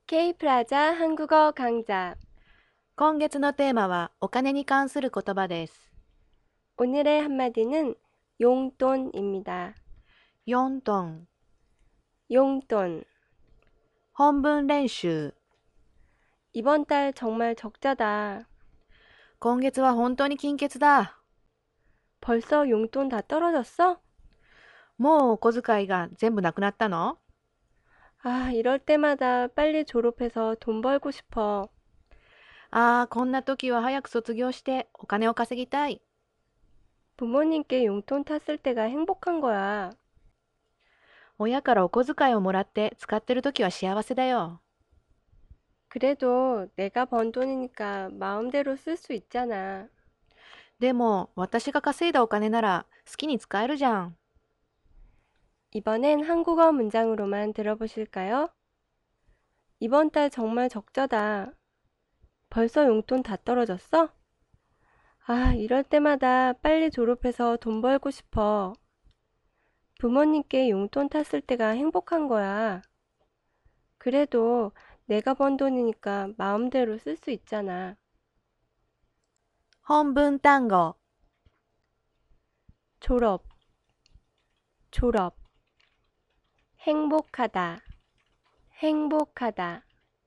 Kプラザ한국어 강좌. 今月のテーマはお金に関する言葉です。 오늘의 한마디는 용돈입니다. 4トン 용돈. 本文練習。 이번 달 정말 적자다. 今月は本当に金欠だ。 벌써 용돈 다 떨어졌어? もうお小遣いが全部なくなったの？ 아, 이럴 때마다 빨리 졸업해서 돈 벌고 싶어. ああ、こんな時は早く卒業してお金を稼ぎたい。 부모님께 용돈 탔을 때가 행복한 거야. 親からお小遣いをもらって使ってる時は幸せだよ。 그래도 내가 번 돈이니까 마음대로 쓸 수 있잖아. でも私が稼いだお金なら好きに使えるじゃん。 이번엔 한국어 문장으로만 들어보실까요? 이번 달 정말 적자다. 벌써 용돈 다 떨어졌어? 아, 이럴 때마다 빨리 졸업해서 돈 벌고 싶어. 부모님께 용돈 탔을 때가 행복한 거야. 그래도 내가 번 돈이니까 마음대로 쓸 수 있잖아. 本文単語。 졸업, 졸업. 행복하다, 행복하다.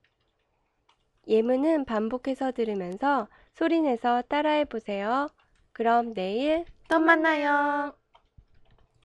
예문은 반복해서 들으면서 소리내서 따라해 보세요. 그럼 내일 또 만나요.